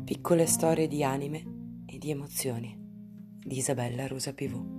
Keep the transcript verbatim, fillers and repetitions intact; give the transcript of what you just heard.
Piccole storie di anime e di emozioni di Isabella Rosa Pivot.